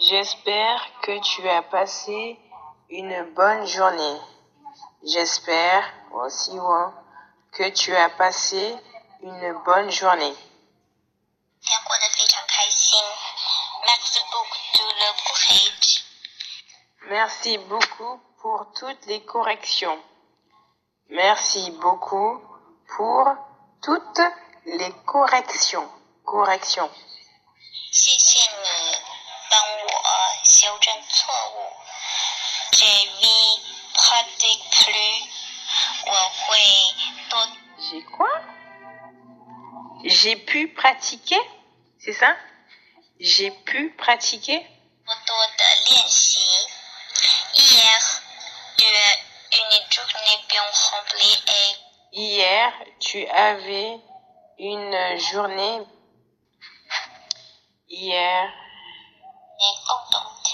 J'espère que tu as passé une bonne journée. J'espère aussi que tu as passé une bonne journée. 今天过得非常开心。Merci beaucoup to le corrige. Merci beaucoup pour toutes les corrections. Merci beaucoup pour toutes les corrections. Corrections. 谢谢你帮我修正错误。Je vais pratiquer plus. 我会多。 J'ai quoi? J'ai pu pratiquer? C'est ça? J'ai pu pratiquer? 多多的练习。Hier, tu as une journée bien remplie et Hier, tu avais une journée. Hier, contente.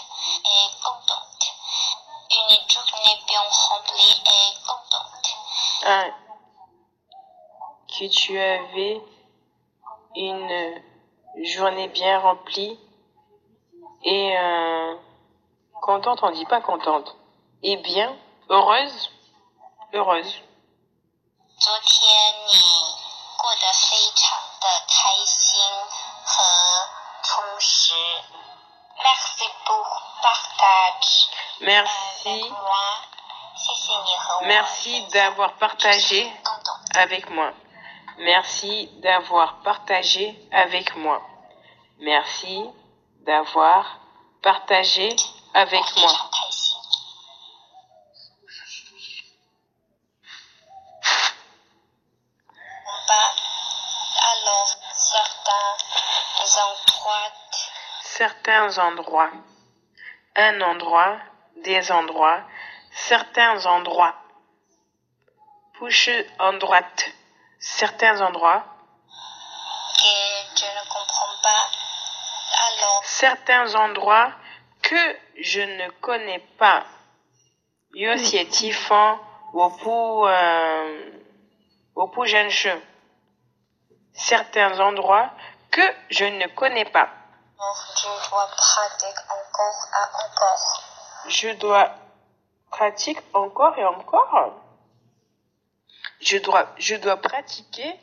Une journée bien remplie et contente. que tu avais une journée bien remplie et contente, on dit pas contente. Et bien, heureuse, heureuse. 昨天你过得非常的开心和充实。Merci pour partage. Merci, moi. 谢谢你和我。 merci d'avoir partagé avec moi. Merci d'avoir partagé avec moi. Merci d'avoir partagé avec 非 moi. 常开心。Alors, Certains endroits. Un endroit, des endroits, certains endroits. Push en droite. Certains endroits. que je ne comprends pas. Alors, Certains endroits que je ne connais pas. Yo c'est tifan wopu jeune jeu. Certains endroits que je ne connais pas. je dois pratiquer encore et encore. Je dois pratiquer encore et encore. Je dois pratiquer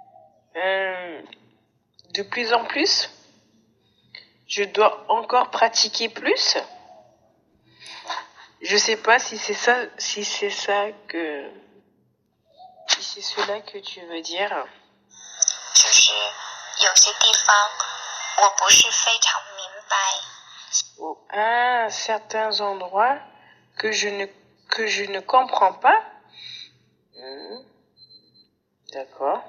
de plus en plus. Je dois encore pratiquer plus. Je sais pas si c'est ça que, si c'est cela que tu veux dire. 就是有些地方我不是非常明白。 Certains endroits que je ne comprends pas. D'accord.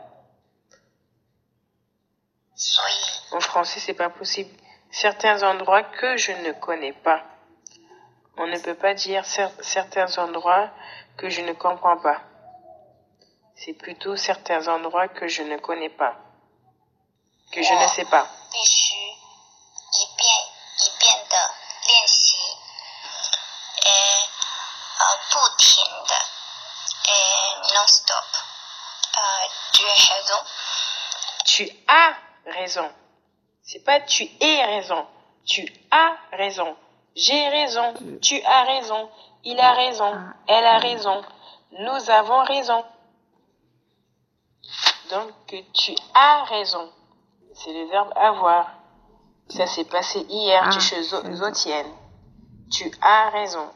所以 En français, c'est pas possible. Certains endroits que je ne connais pas. On ne peut pas dire certains endroits que je ne comprends pas. C'est plutôt certains endroits que je ne connais pas. Que je ne sais pas. 必须一遍一遍的练习，不停的，non stop。tu as raison。 Tu as raison. C'est pas tu es raison. Tu as raison. J'ai raison. Tu as raison. Il a raison. Elle a raison. Nous avons raison. Donc, tu as raison. C'est le verbe avoir. Ça s'est passé hier. Tu zotienne. Tu as raison.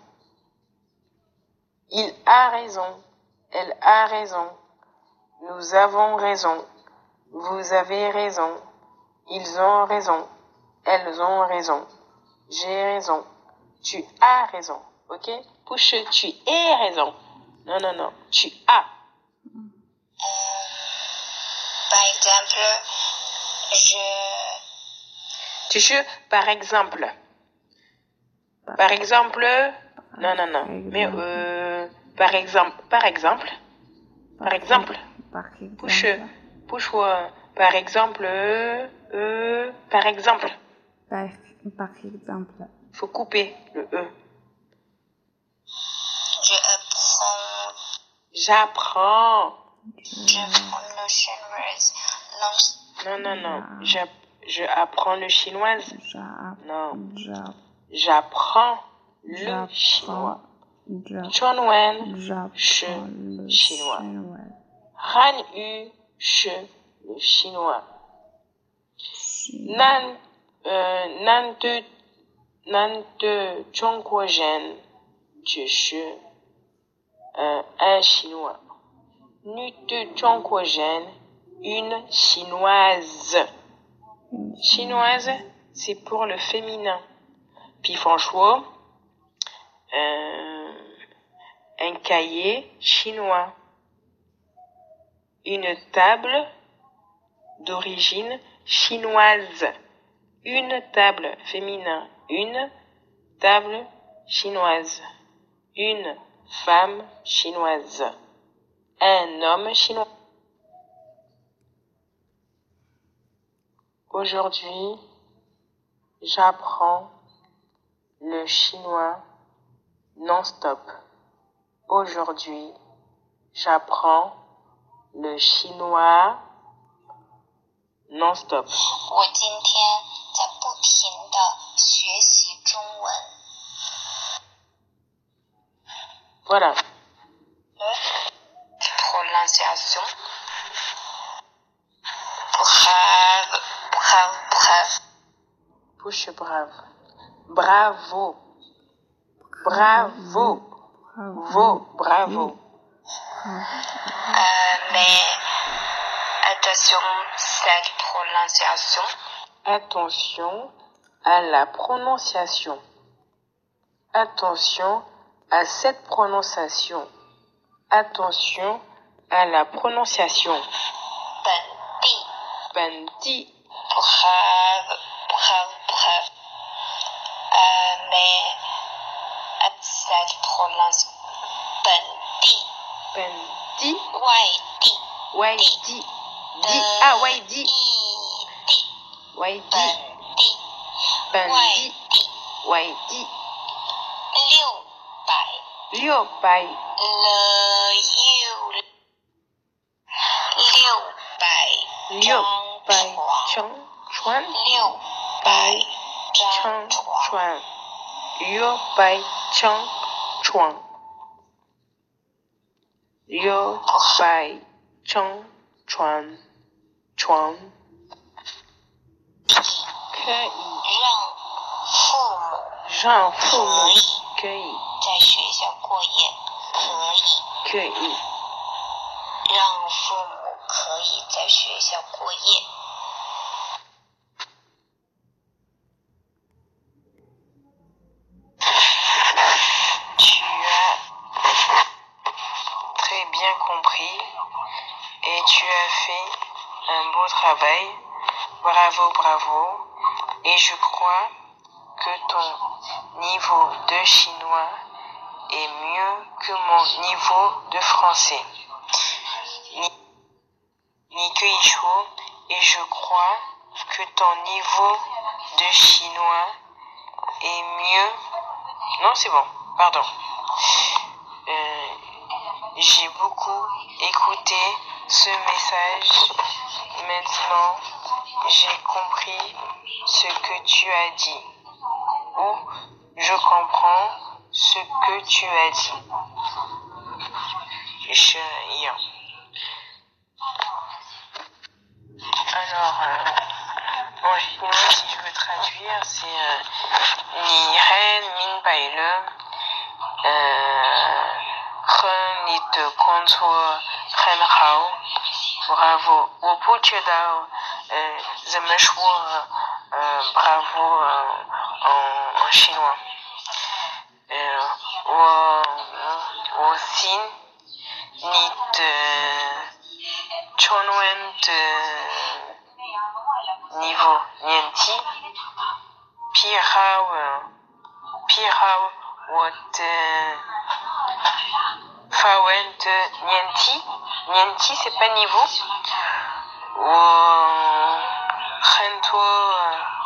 Il a raison. Elle a raison. Nous avons raison. Vous avez raison. Ils ont raison. Elles ont raison. J'ai raison. Tu as raison. Ok? Push, tu es raison. Non, non, non. Tu as. Par exemple, par exemple. Par exemple. Non, non, non. Mais, par exemple. Push, par exemple. Par exemple. Par exemple. Faut couper le E. J'apprends. le chinois. Non, non, non. Je apprends le chinois. Non. j'apprends le chinois. Chonwen, je chinois. Han Yu, je le chinois. Nan de Zhongguo Zhen, je suis un chinois. Nu de Zhongguo Zhen, une chinoise. Chinoise, c'est pour le féminin. Puis franchement, un cahier chinois. Une table d'origine chinoise. Une table féminin. Une table chinoise. Une femme chinoise. Un homme chinois. Aujourd'hui, j'apprends le chinois non-stop. Aujourd'hui, j'apprends le chinois non-stop. 我今天在不停地学习中文。 Voilà. Prononciation. Brave, brave, brave. Bouche brave. Bravo. Bravo. Bravo. Mais attention, cette prononciation. Attention à la prononciation. Attention à cette prononciation. Attention à la prononciation. Bandi. Brave, brave, brave. Mais cette prononciation. Bandi. Waidi. Waidi. Bandi. Waidi. 600. 600乘船600乘船600乘船600乘船可以让父母可以在学校过夜， 可以让父母可以在学校过夜。 Tu as très bien compris et tu as fait un beau travail. Bravo, bravo. Et je crois que ton niveau de chinois est mieux que mon niveau de français. Et je crois que ton niveau de chinois est mieux. Non, c'est bon, pardon. J'ai beaucoup écouté ce message. Maintenant, j'ai compris ce que tu as dit. Ou je comprends ce que tu as dit. Alors, en chinois, si je veux traduire, c'est Ni Ren Min Bai Le, Ren Ni De Kong Cuo Ren Hao, bravo. 我不知道怎么说bravo en chinois. 我信你的中文的niveau 年纪比好我的法文的年纪 c'est pas niveau. 我很多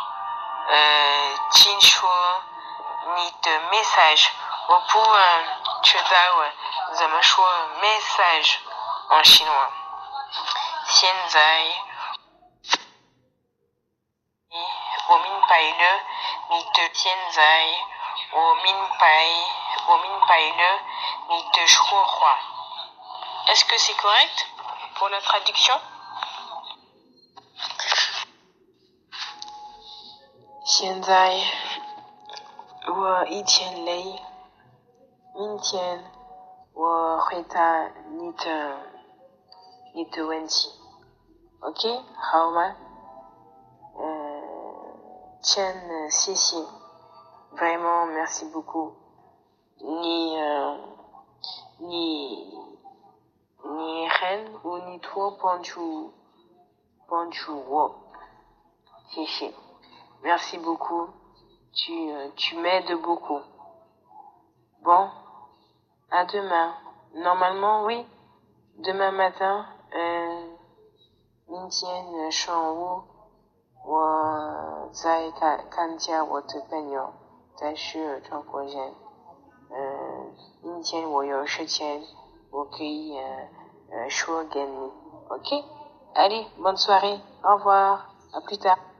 清楚你的 message. 我不知道怎么说 message en chinois. 现在我明拜了，你的现在，我明白了你的说话。Est-ce que c'est correct pour la traduction? 现在我一天累，明天我回答你的问题。OK， 好吗？Chen, si. Vraiment, merci beaucoup. Ni Ren ou ni toi, Ponchu Wo. Si. Merci beaucoup. Tu m'aides beaucoup. Bon, à demain. Normalement, oui. Demain matin, 明天上午我在看见我的朋友，但是中国人。明天我有时间，我可以说给你。OK? Allez, bonne soirée. Au revoir. À plus tard.